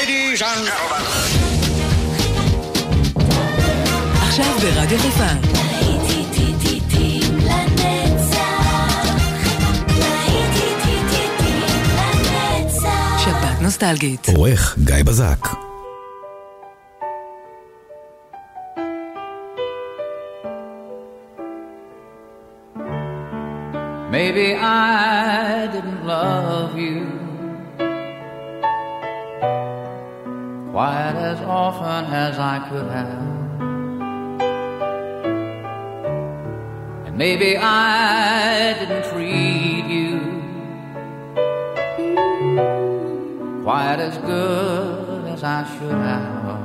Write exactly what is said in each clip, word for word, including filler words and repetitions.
Ladies and gentlemen. עכשיו ברדיו חיפה. שבת נוסטלגית. עורך גיא בזק. Maybe I didn't love you quite as often as I could have, and maybe I didn't treat you quite as good as I should have.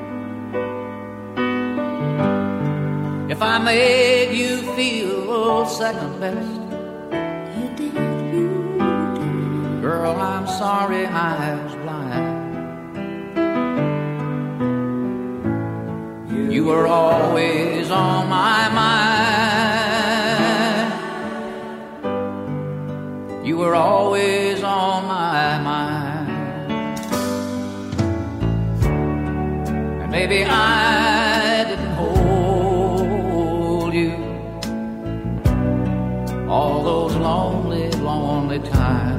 If I made you feel second best, girl, I'm sorry I was blind. You were always on my mind. You were always on my mind. And maybe I didn't hold you all those lonely, lonely times.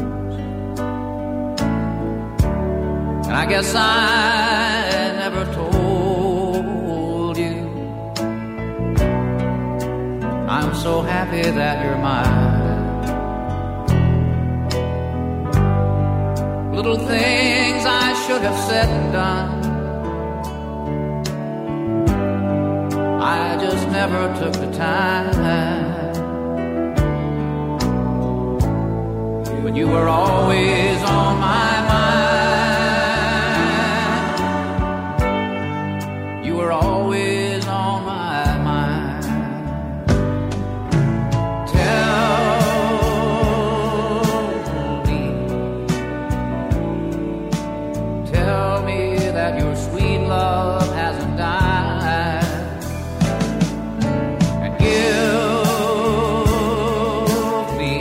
I guess I never told you I'm so happy that you're mine. Little things I should have said and done, I just never took the time. But you were always on my mind. Always on my mind. Tell me, tell me that your sweet love hasn't died, and give me,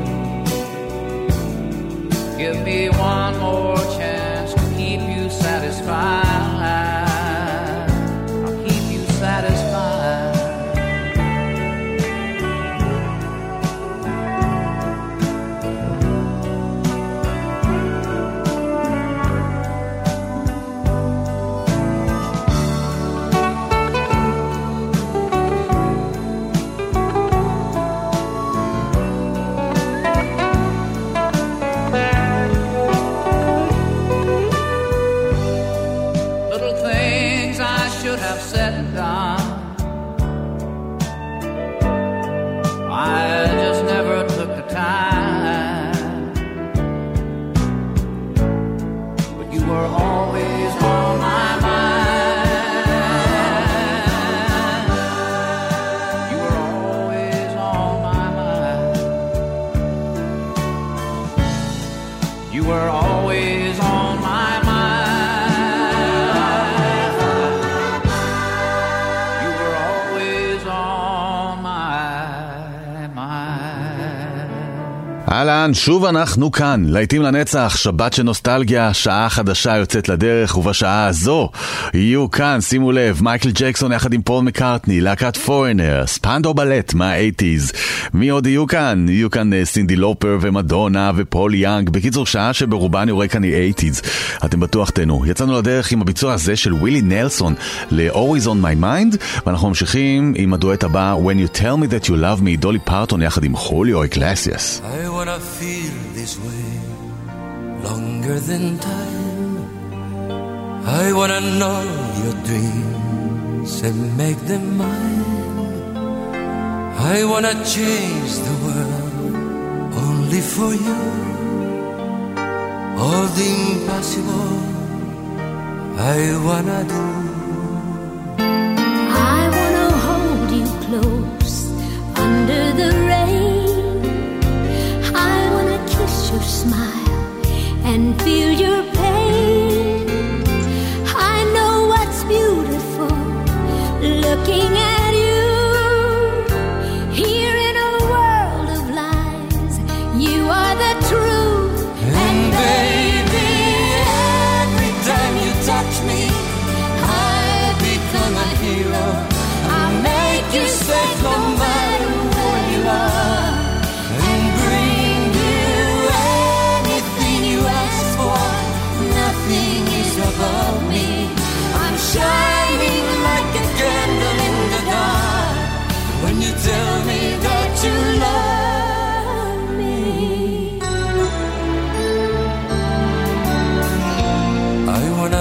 give me one more chance to keep you satisfied. אהלן, שוב אנחנו כאן, להיטים לנצח, שבת של נוסטלגיה, שעה חדשה יוצאת לדרך, ובשעה הזו יהיו כאן, שימו לב, מייקל ג'קסון יחד עם פול מקארטני, להקת פורנר, ספנדו בלט מה-שמונים. מי עוד יהיו כאן? יהיו כאן סינדי לופר ומדונה ופול יאנג, בקיצור שעה שברובה אני רואה כאן היא שמונים. אתם בטוח תנו. יצאנו לדרך עם הביצוע הזה של ווילי נלסון ל-Always on my mind, ואנחנו ממשיכים עם הדואט הבא, When you tell me that you love me, דולי פרטון יחד עם חוליו אגלסיאס. I wanna feel this way longer than time. I wanna know your dreams and make them mine. I wanna change the world only for you. All the impossible I wanna do. I wanna hold you close under the rain. I wanna kiss your smile and feel your pain. I know what's beautiful looking at you. Here in a world of lies, you are the truth. And, and baby, every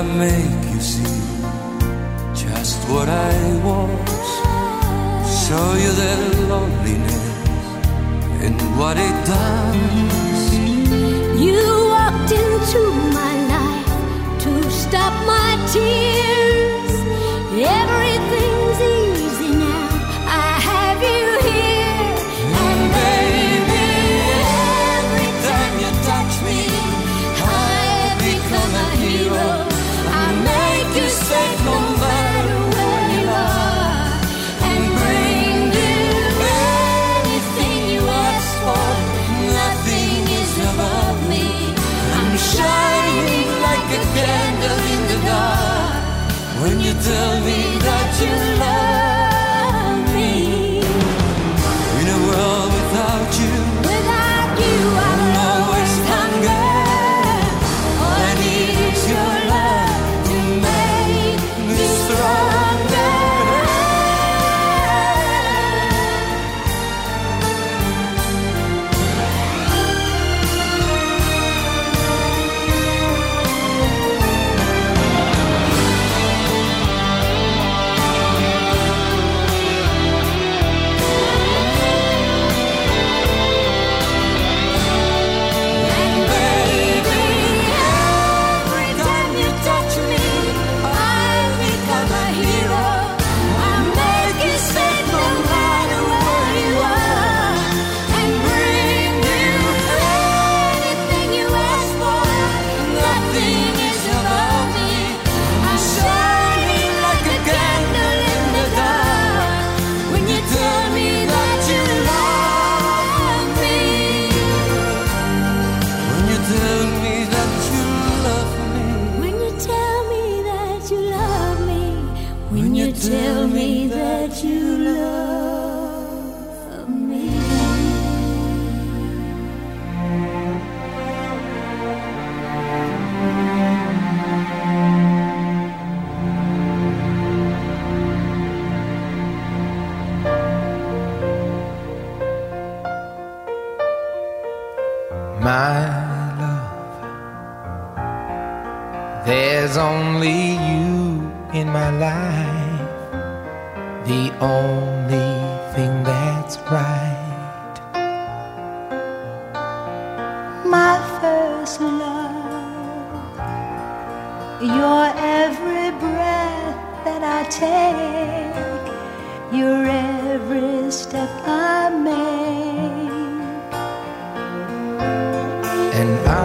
I make you see just what I was, show you the loneliness and what it does. You walked into my life to stop my tears. Everything's easy now, I have you here. And baby, every time you touch me, I become a hero. I make you safe no matter where you are, and bring you anything you ask for. Nothing is above me. I'm shining like a candle in the dark when you tell me that you love me. In a world without you, Without you, I'm always hunger. All I need is your love to make me stronger. And baby, every time you touch me, I become a hero. I make you safe no matter where you are, and bring you anything you ask for. Nothing is above me. I'm shining like a candle in the dark when you tell me that you love me. when you tell me that you love me, When you tell me that you love me, when you tell me that you love me. My love, there's only you in my life, the only thing that's right. My first love, your every breath that I take, your every step I make. And I,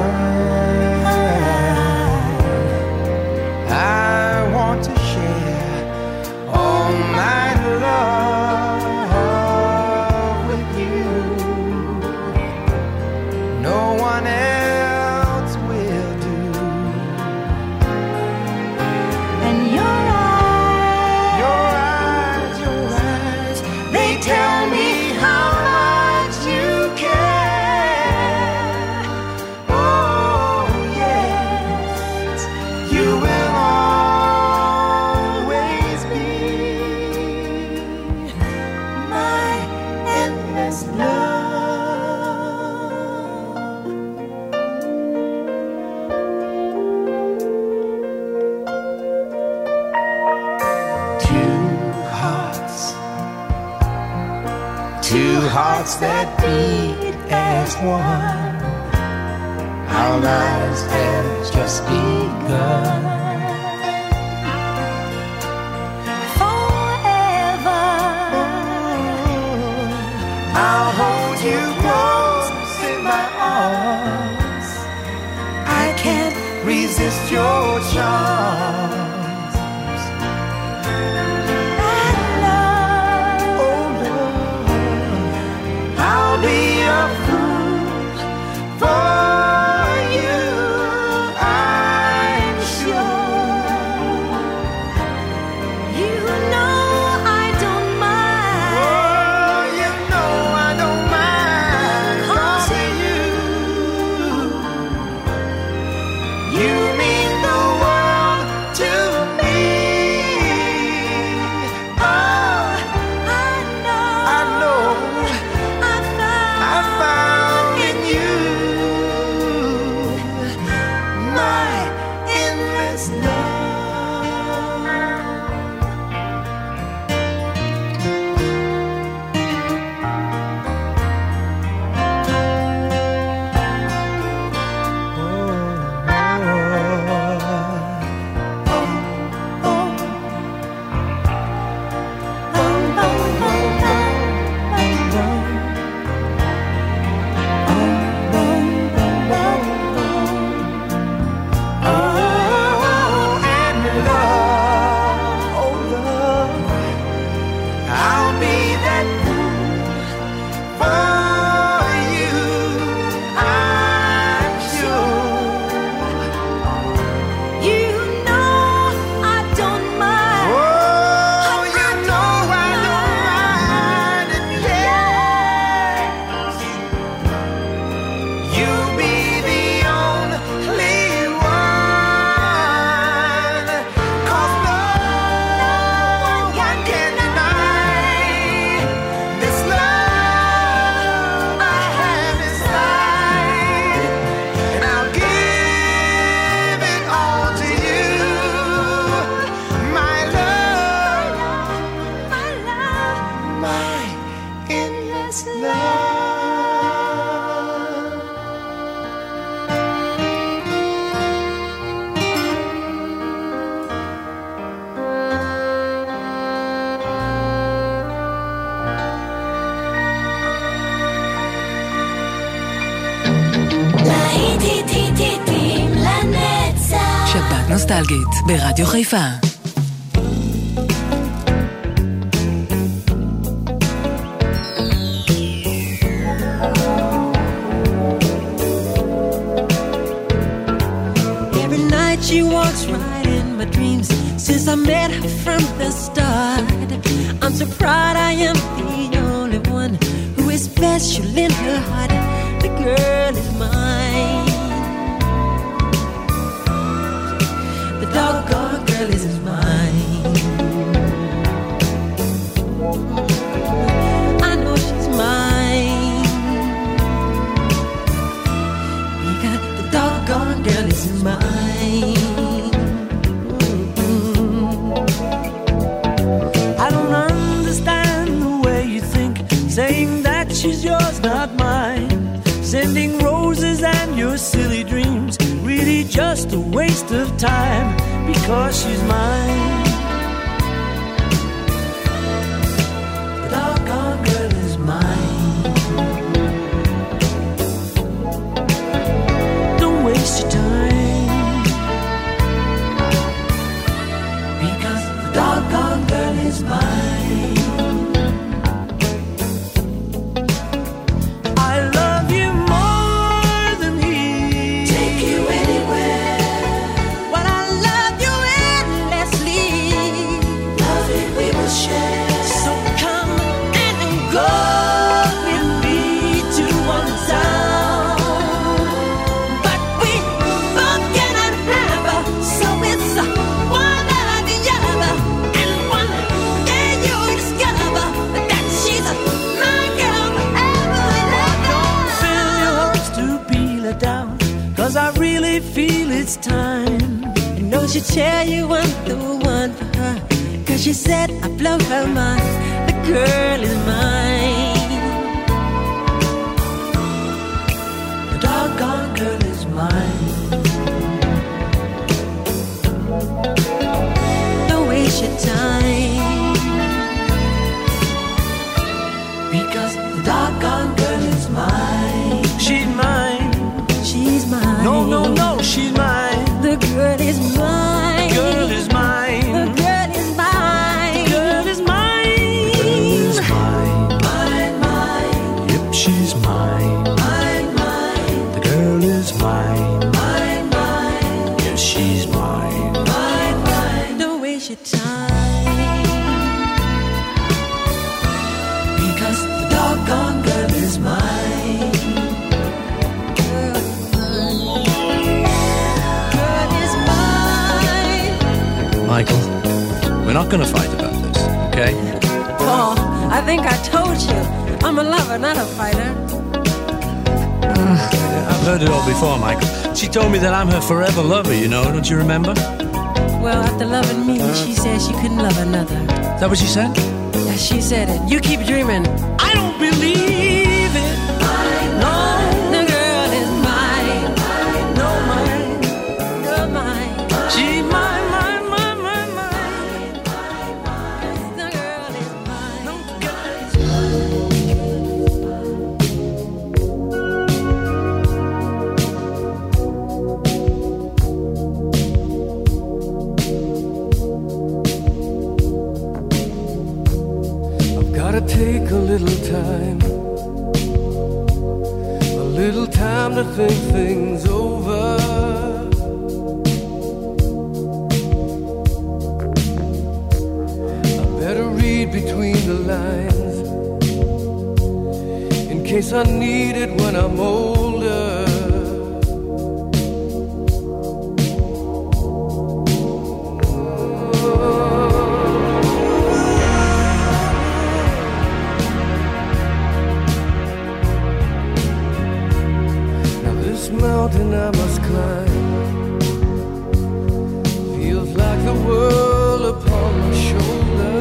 I want to share all my love with you. No one else will do. And your eyes, Your eyes, your eyes, they tell me how much you care. Oh yes, you will always be my endless love. Two hearts, two hearts that beat as one. Our lives have just begun. forever. I'll hold you close in my arms. I can't resist your charms. And love, Oh Lord, I'll be a fool for you. I'm sure. you know I don't mind. Oh, you know I don't mind. 'Cause you, you mean the world to נוסטלגית, ברדיו חיפה. Every night she walks right in my dreams. Since I met her from the start, I'm so proud I am the only one who is special in her heart. The girl is mine. The doggone girl is mine. I know she's mine. Because the doggone girl is mine. I don't understand the way you think, saying that she's yours, not mine. Sending roses and your silly dreams, really just a waste of time, because she's mine. The doggone girl is mine. Don't waste your time, because the doggone girl is mine. I really feel it's time. I know she'll tell you I'm the one for her, cause she said I blow her mind. The girl is mine. The doggone girl is mine. Don't waste your time, because the doggone girl is mine. She's mine. She's mine. No, no, no, she's mine. The girl is mine. Girl is mine. The girl is mine. Girl is mine. Girl is mine. Mine, mine. Yep, she's mine. Mine, mine. The girl is mine. Mine, mine. Yes, she's mine. Mine, mine. Don't waste your time, because the doggone girl is mine. Michael, we're not going to fight about this, okay? Paul, I think I told you. I'm a lover, not a fighter. Uh, I've heard it all before, Michael. She told me that I'm her forever lover, you know, don't you remember? Well, after loving me, uh, she said she couldn't love another. Is that what she said? Yeah, she said it. You keep dreaming. I don't believe it. I know the girl is mine. I know mine. You're mine. She's mine. Take a little time, a little time to think things over. I better read between the lines, in case I need it when I'm older. Mountain I must climb feels like the world upon my shoulder.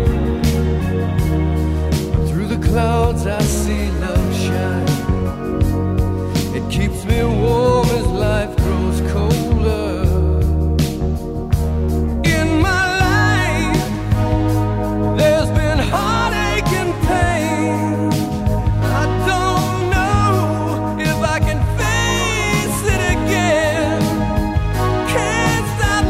Through the clouds I see love shine. It keeps me warm as life grows colder. In my life there's been heartache and pain. I don't know if I can face it again. Can't stop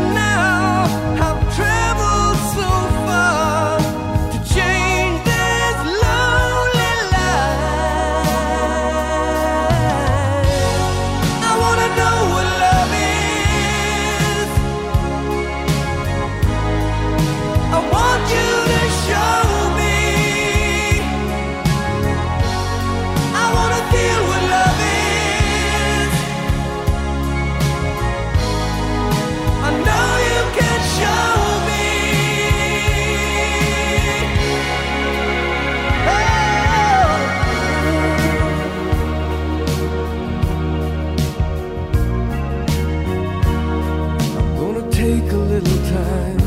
take a little time,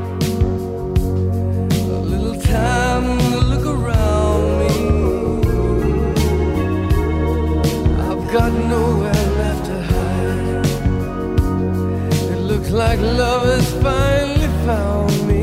a little time to look around me. I've got nowhere left to hide. It looks like love has finally found me.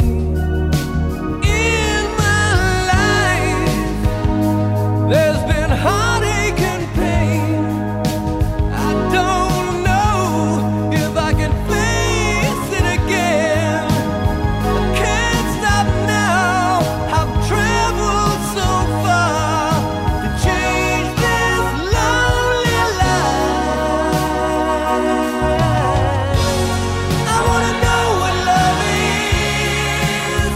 In my life, there's been heartache and pain. I don't know if I can face it again. I can't stop now. I've traveled so far to change this lonely life. I wanna know what love is.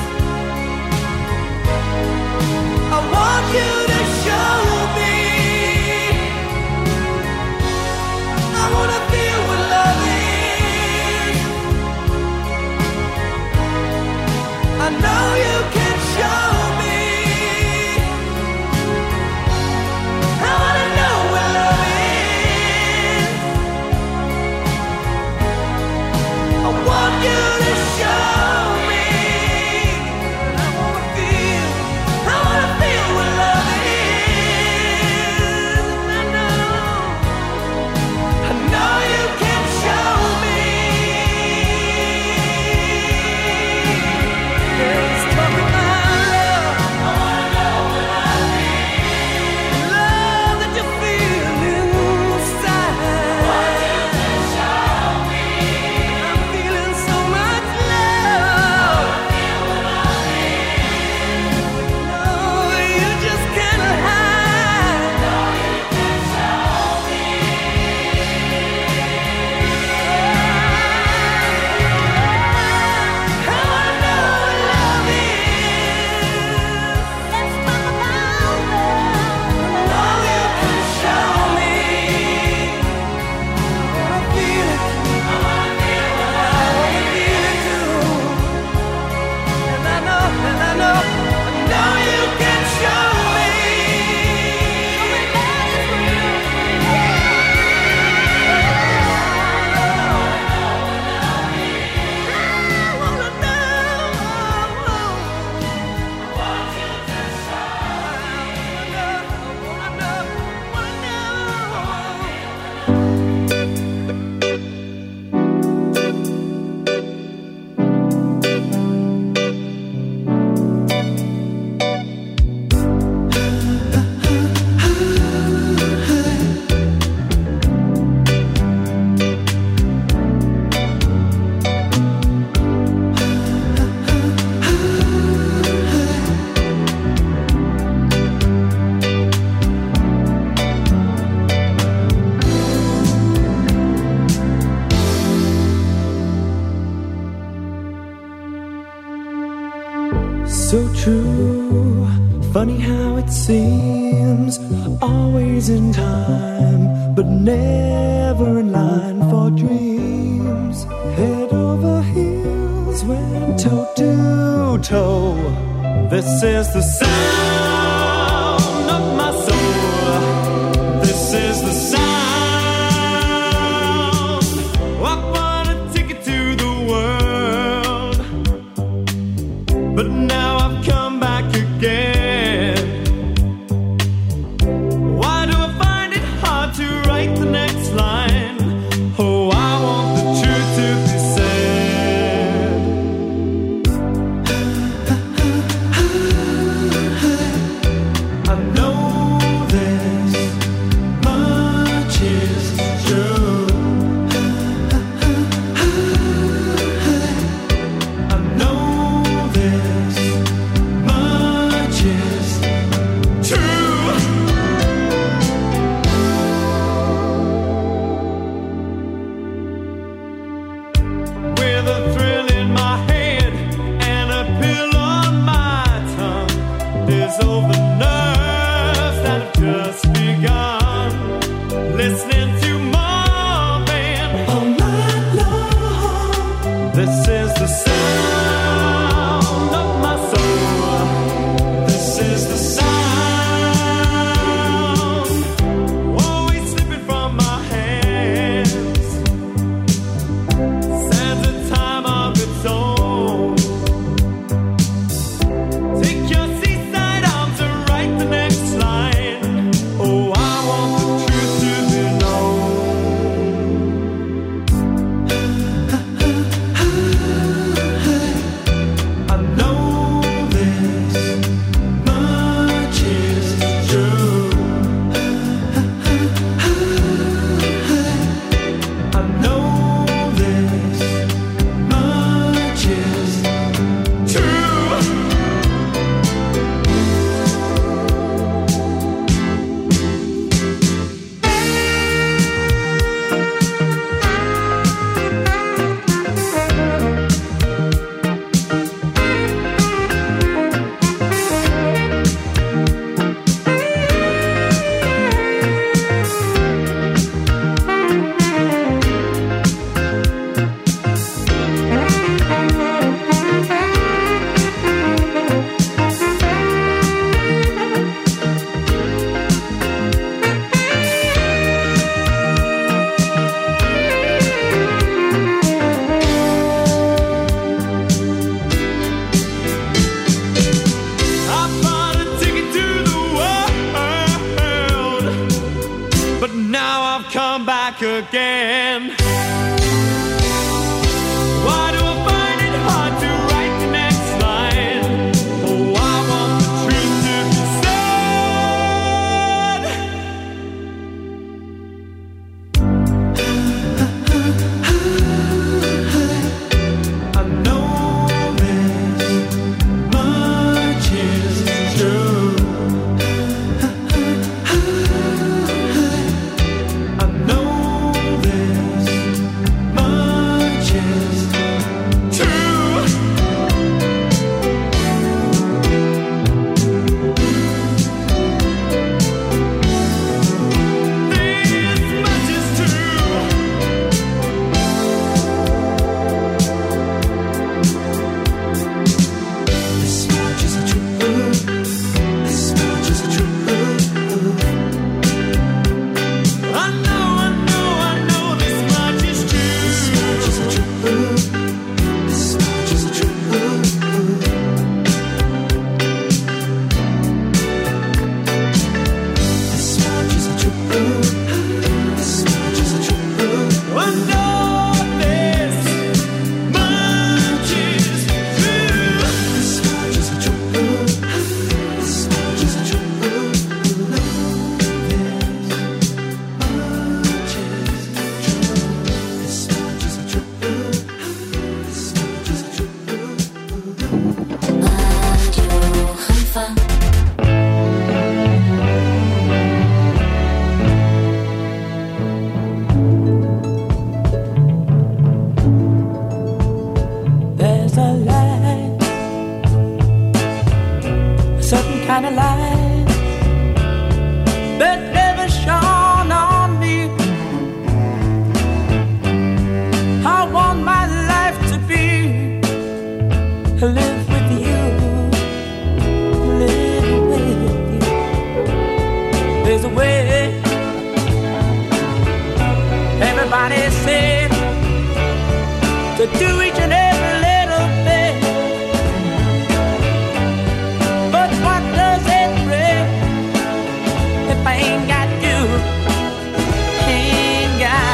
I want you to show me. I wanna feel what love is. I know you can show me. I wanna know what love is. I want you to show me. I wanna feel, I wanna feel what love is. I know, I know you can show me. Let's talk about love. I wanna know what love is. Love that you feel inside. Want you to show me. I'm feeling so much love. Feel what love is. No, you just can't hide. No, you can show me. I wanna know what love is. Let's talk about love. No, you can show me. I wanna feel it. I wanna feel what love is. I wanna feel it too. And I know, and I know, I know you can show me. I wanna know. I want you to show me. I wanna know, wanna know, wanna know. So true, funny how it seems, always in time, but never in line for dreams. Head over heels, went toe to toe. This is the sound of my soul. This is the sound. I want a ticket to the world, but now I've come back again. Why do I find it hard to write the next line? Oh, I want the truth to be said. I know this much is true. I know this much is true. With a thrill in my head and a pill on my tongue, there's all the nerves that have just begun. Listening to Marvin all night long. This is the sound of my soul. This is the sound, always slipping from my hands. Santa do each and every little thing. But what does it bring if I ain't got you? Ain't got,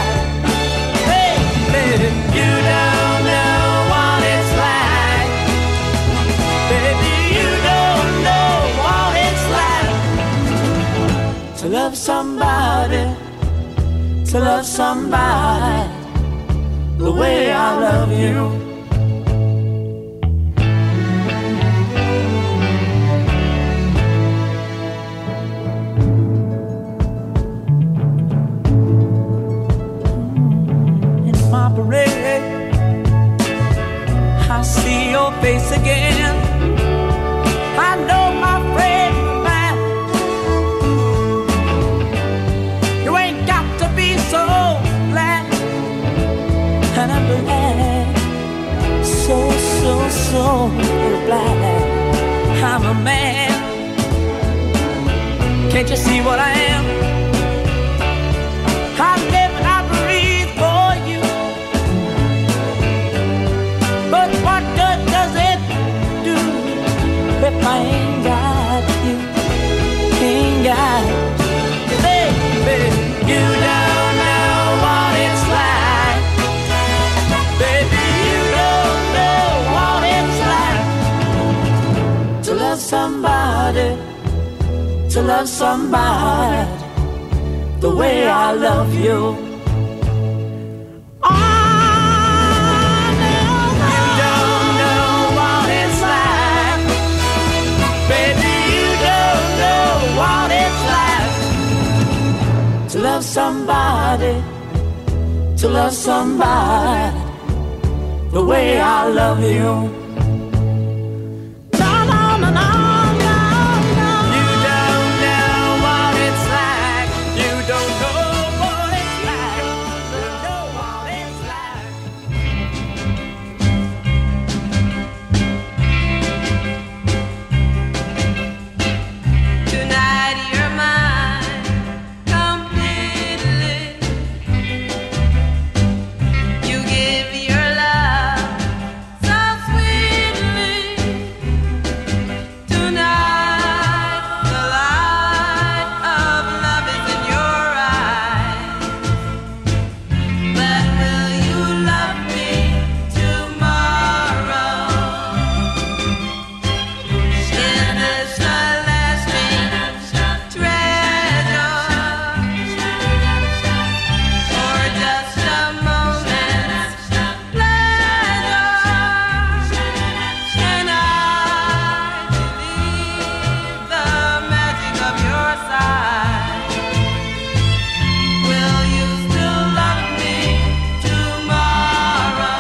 baby, you don't know what it's like. Baby, you don't know what it's like to love somebody, to love somebody the way I love you. In my parade, I see your face again. I know my friend of mine, you ain't got to be so glad. And I'm glad, so, so, so glad I'm a man. Can't you see what I am? I live and I breathe for you. But what good does it do if I ain't got you? Ain't got you, baby. You don't know what it's like. Baby, you don't know what it's like to love somebody, to love somebody the way I love you. Oh, no, you don't know what it's like. Baby, you don't know what it's like to love somebody, to love somebody the way I love you. No, no, no, no, no, no. You don't know what it's like. You don't know what it's like. You don't know what it's like. Tonight you're mine completely. You give your love so sweetly. Tonight the light of love is in your eyes. But will you love me tomorrow? Is this a lasting treasure, or just a moment's pleasure? Can I believe the magic of your side? Will you still love me tomorrow?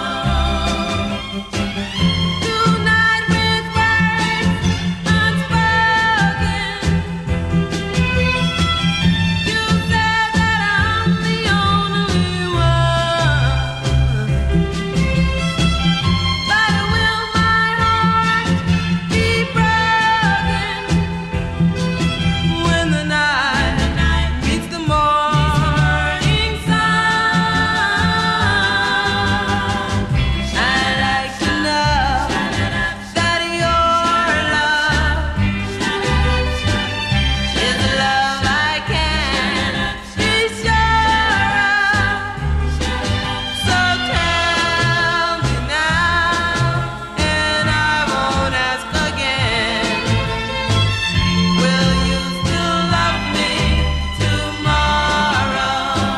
Tonight with words unspoken, you said that I'm the only one. But will my heart be broken when the night meets the morning sun? I'd like to know that your love is a love I can be sure of. So tell me now, and I won't ask again. Will you still love me tomorrow?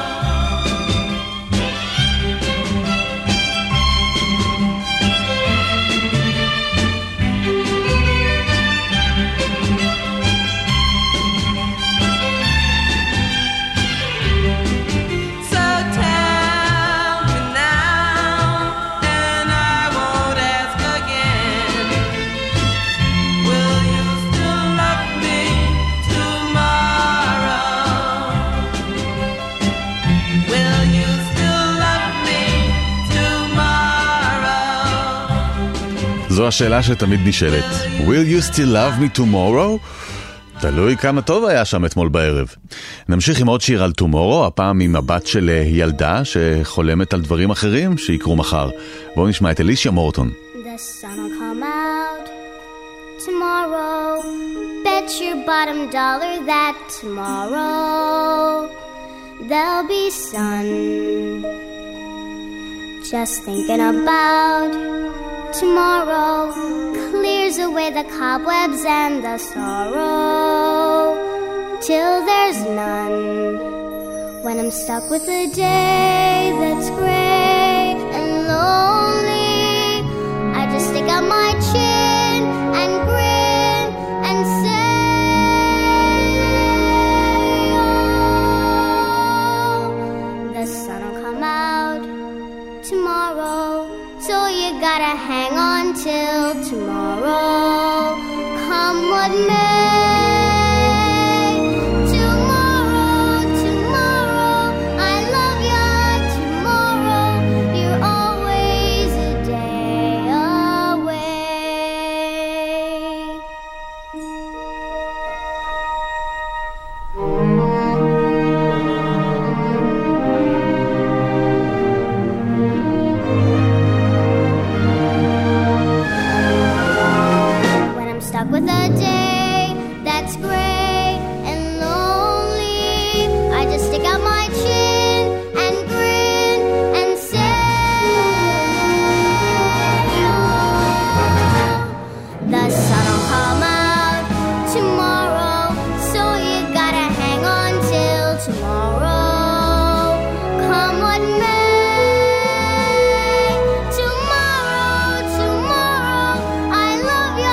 So tell me now, and I won't ask again. Will you still love me tomorrow? Will you still love me tomorrow? זו השאלה שתמיד נשאלת. Will you still love me tomorrow? תלוי כמה טוב היה שם אתמול בערב. נמשיך עם עוד שיר על טומורו, הפעם עם הבת של ילדה שחולמת על דברים אחרים שיקרו מחר. בואו נשמע את אלישיה מורטון. The sun will come out tomorrow. Bet your bottom dollar that tomorrow there'll be sun. Just thinking about tomorrow clears away the cobwebs and the sorrow till there's none. When I'm stuck with a day that's gray and lonely, I just stick out my chin and grin and say, oh, the sun will come out tomorrow, so you gotta hang on till tomorrow, come what may. Tomorrow, tomorrow, I love ya. Tomorrow, you're always a day away. Stuck with a day that's gray and lonely, I just stick out my chin and grin and say, oh, the sun will come out tomorrow, so you gotta hang on till tomorrow, come what may. Tomorrow, tomorrow, I love ya.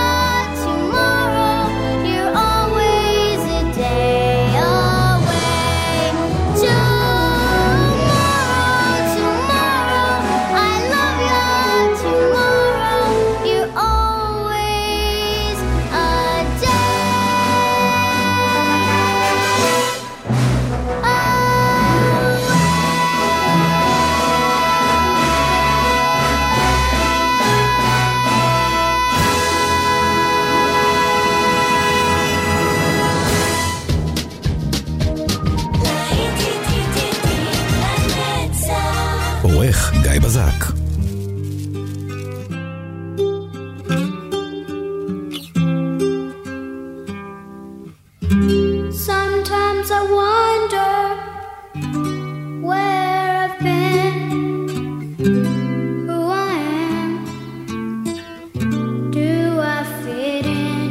עורך גיא בזק. Sometimes I wonder where I've been, who I am. Do I fit in?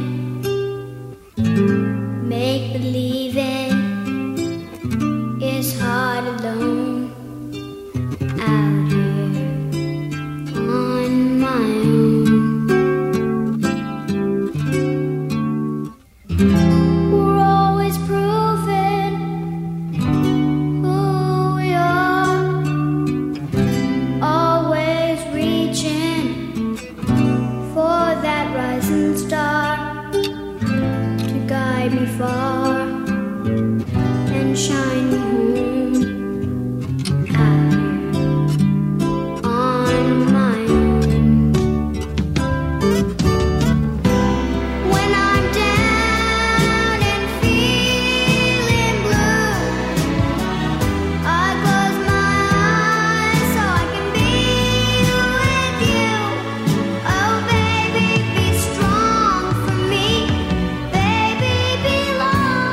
Make believing is hard alone. Out here on my own, we're always proving who we are, always reaching for that rising star to guide me far and shine me home. Baby, belong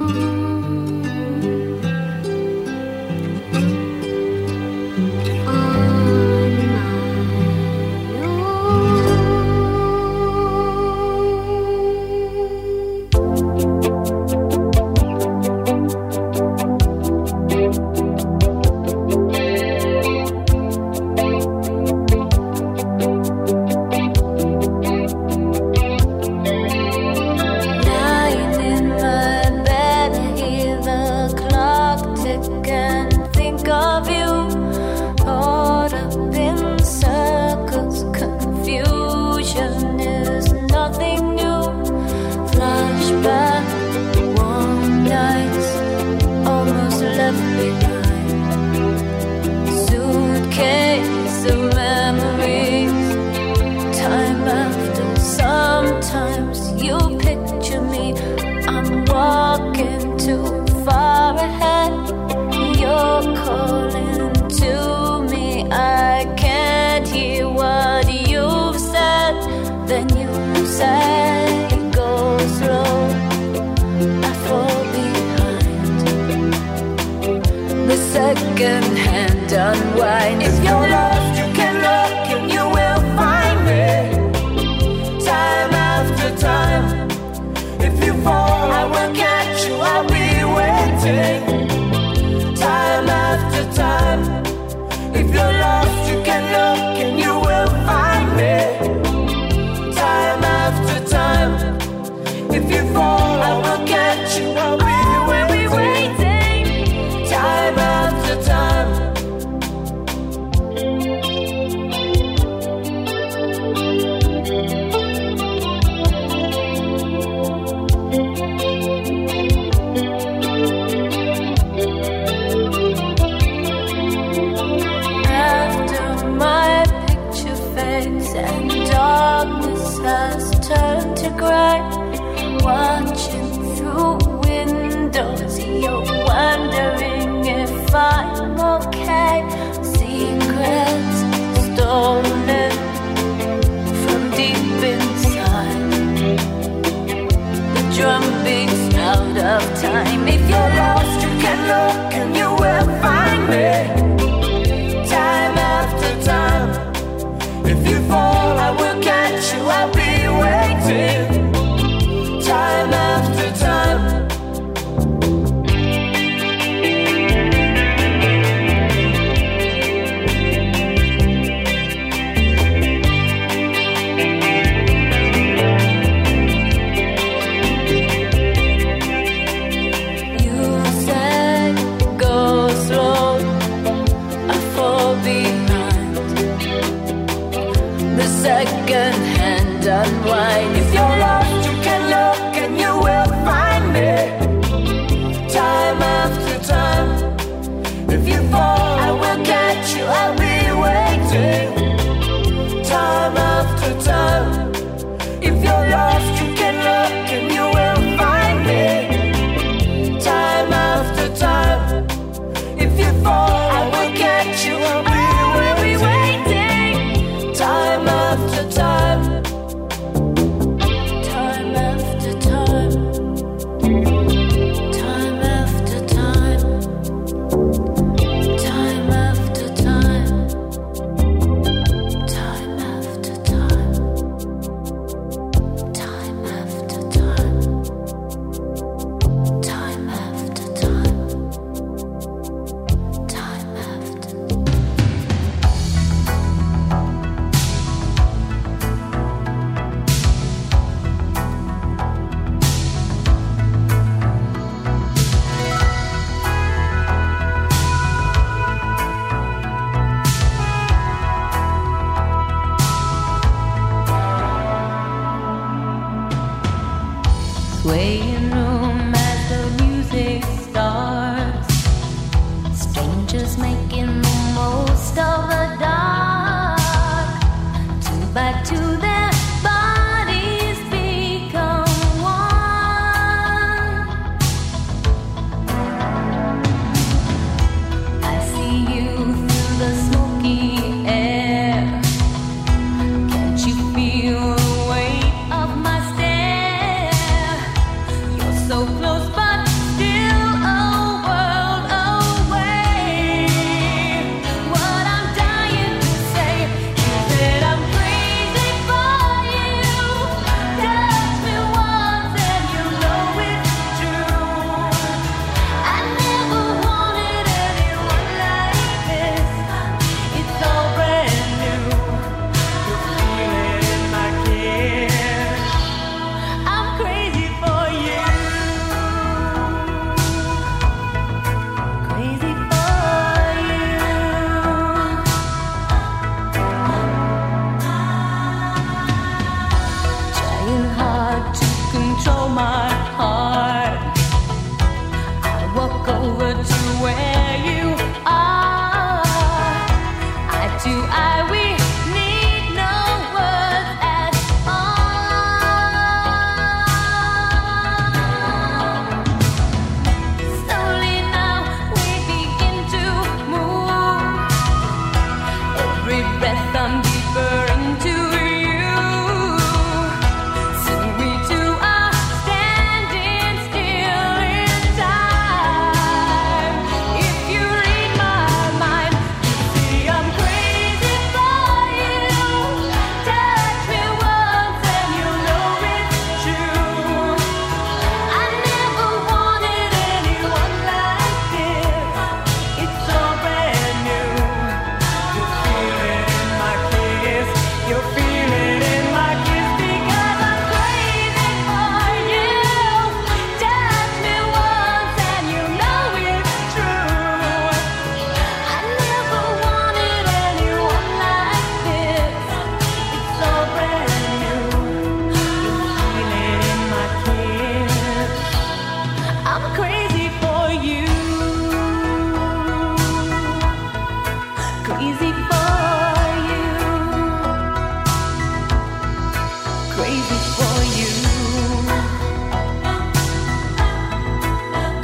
You said go slow.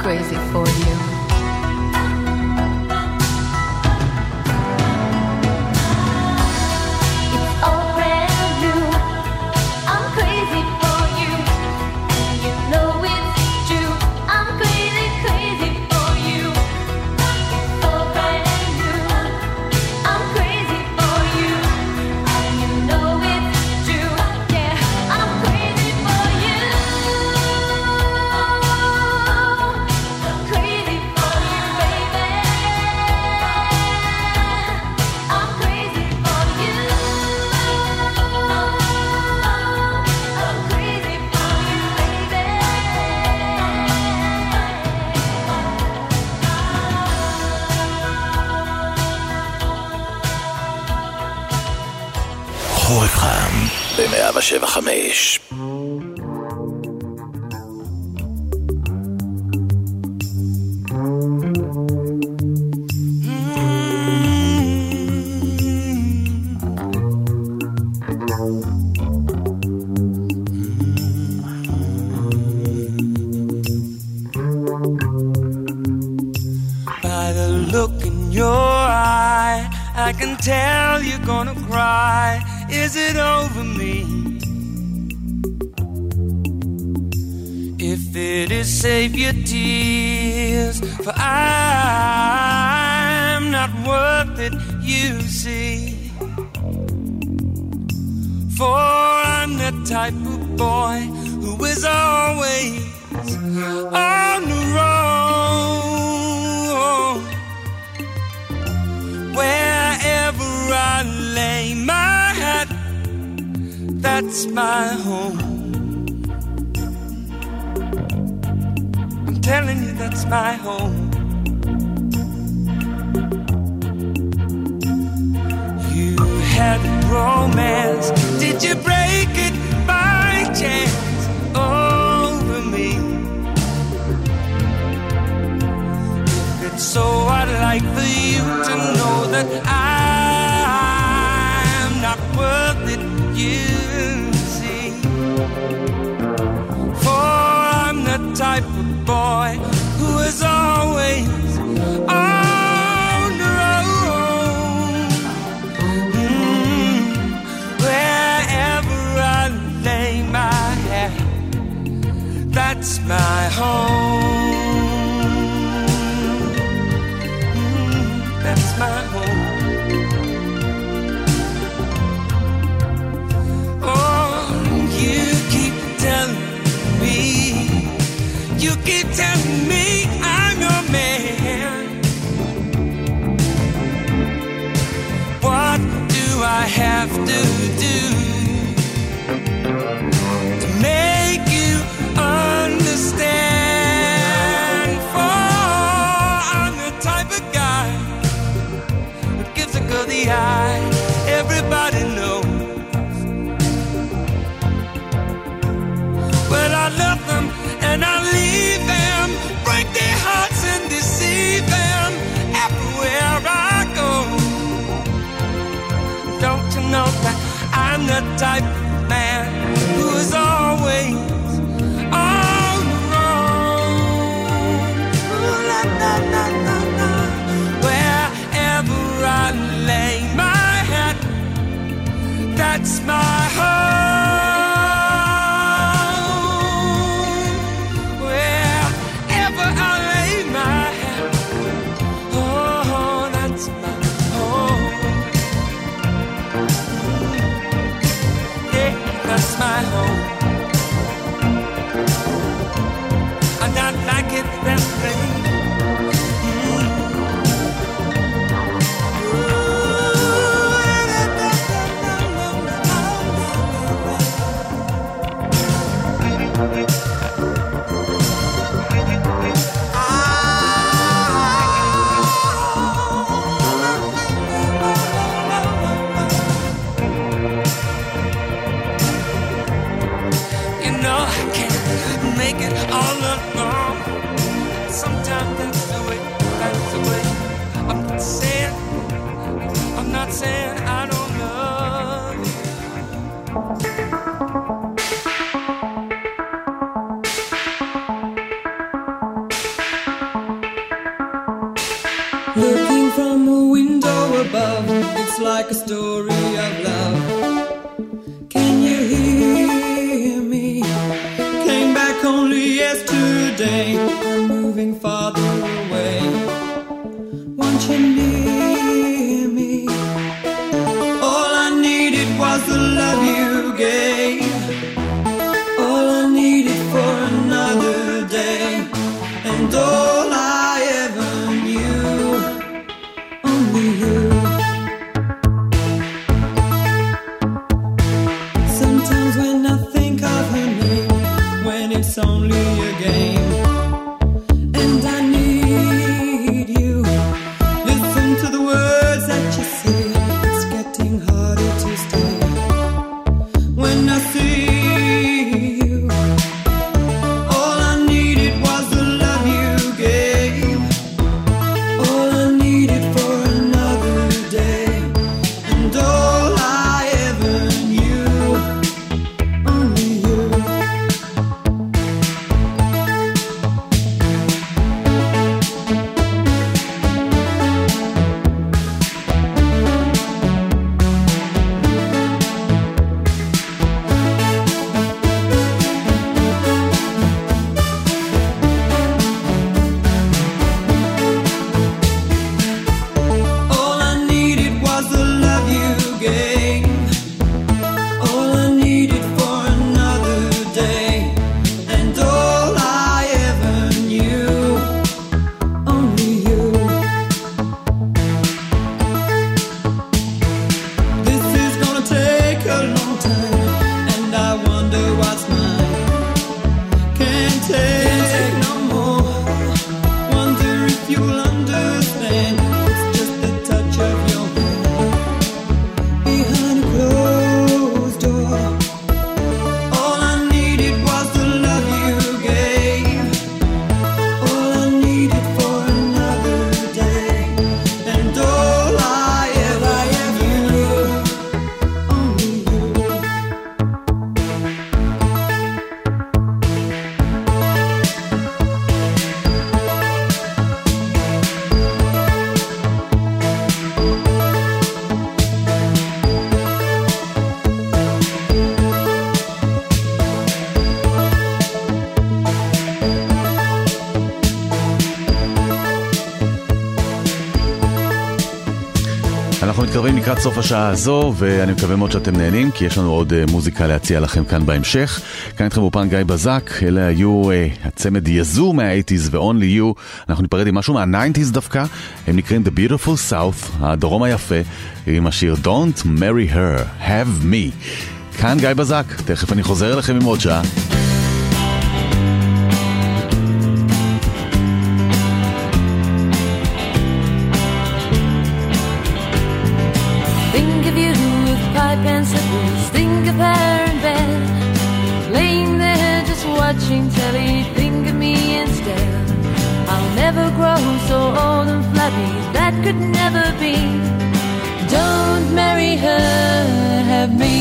crazy for you. חורף חם ב-מאה ושבע חמש. By the look in your eye, I can tell you're gonna cry. Is it over me? If it is, save your tears, for I'm not worth it, you see. For I'm the type of boy who is always on the road. Wherever I lay my head, that's my home. I'm telling you, that's my home. You had romance, did you break it by chance over me? If it's so, I'd like for you to know that I'm not worth it, you see. For I'm the type of boy who is always on the road. Mm, wherever I lay my head, that's my home. Mm, that's my home. You keep telling me I'm your man. What do I have to do to make you understand? For I'm the type of guy who gives a girl the eye. Everybody knows. Well, I love them and I leave them, break their hearts and deceive them everywhere I go. Don't you know that I'm the type of man who is always on the road? Ooh, la, la, la, la, la. Wherever I lay my head, that's my home. My home. I'm not like it that way. Saying I don't love you. Looking from a window above, it's like a story of love. Can you hear me? Came back only yesterday. I'm moving farther away. Won't you near me? All I needed was the love you gave. All I needed for another day. And all I ever knew, only you. Sometimes when I think of her name, when it's only a game, and I need you, listen to the words that you say. It's getting harder to stay. When I see you, all I needed was the love you gave. All I needed for another day. And all I ever knew, only you. All I needed was the love you gave. All I needed for another day. And all I ever knew, only you. This is gonna take a long time, and I wonder what's mine. Can't take no more. Wonder if you'll understand. It's just the touch of your hand behind a closed door. All I needed was the love you gave. All I needed for another day. And all I ever knew, only you. אנחנו מתקרבים לקראת סוף השעה הזו, ואני מקווה מאוד שאתם נהנים, כי יש לנו עוד uh, מוזיקה להציע לכם כאן בהמשך. כאן איתכם באופן גיא בזק, אלה היו uh, הצמד יזו מה-שמונים ו-Only You. אנחנו ניפרד עם משהו מה-תשעים דווקא, הם נקראים The Beautiful South, הדרום היפה, עם השיר Don't Marry Her, Have Me. כאן גיא בזק, תכף אני חוזר אליכם עם עוד שעה. Think of you with pipe and slippers. Think of her in bed, laying there just watching telly. Think of me instead. I'll never grow so old and flabby. That could never be. Don't marry her, have me.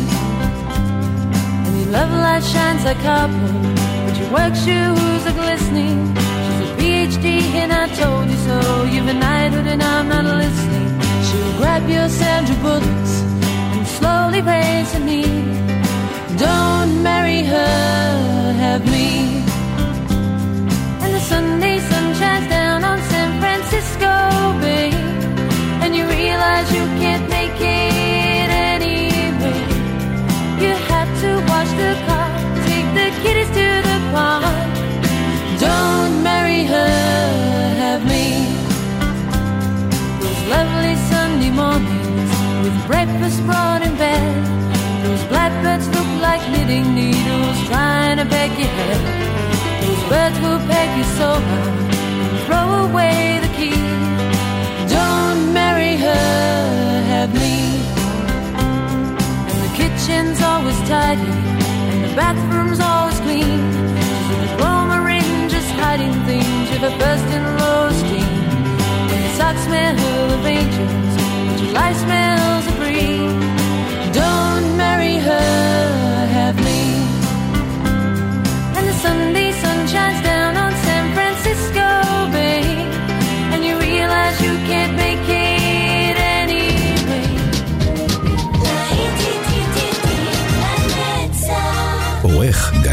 And your love light shines like copper, but your work shoes are glistening. She's a P H D and I told you so. You've a knighthood and I'm not listening. She'll grab your Sandra Bullets and slowly raise her knee. Don't marry her, have me. And the Sunday sun shines down on San Francisco Bay, and you realize you can't make it anyway. You have to wash the car, take the kiddies to the park. Don't marry her, have me. Those lovely Sunday mornings with breakfast brought in bed, those blackbirds look like knitting needles trying to peck your head. Those birds will peck you so hard and throw away the key. Don't marry her, have me. And the kitchen's always tidy and the bathroom's always clean. She's a diploma in just hiding things. You're the first in low esteem. When the socks smell of angels, but your life smells of green. Don't marry her, have me. And the Sunday sun shines down on San Francisco Bay, and you realize you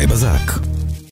בזק.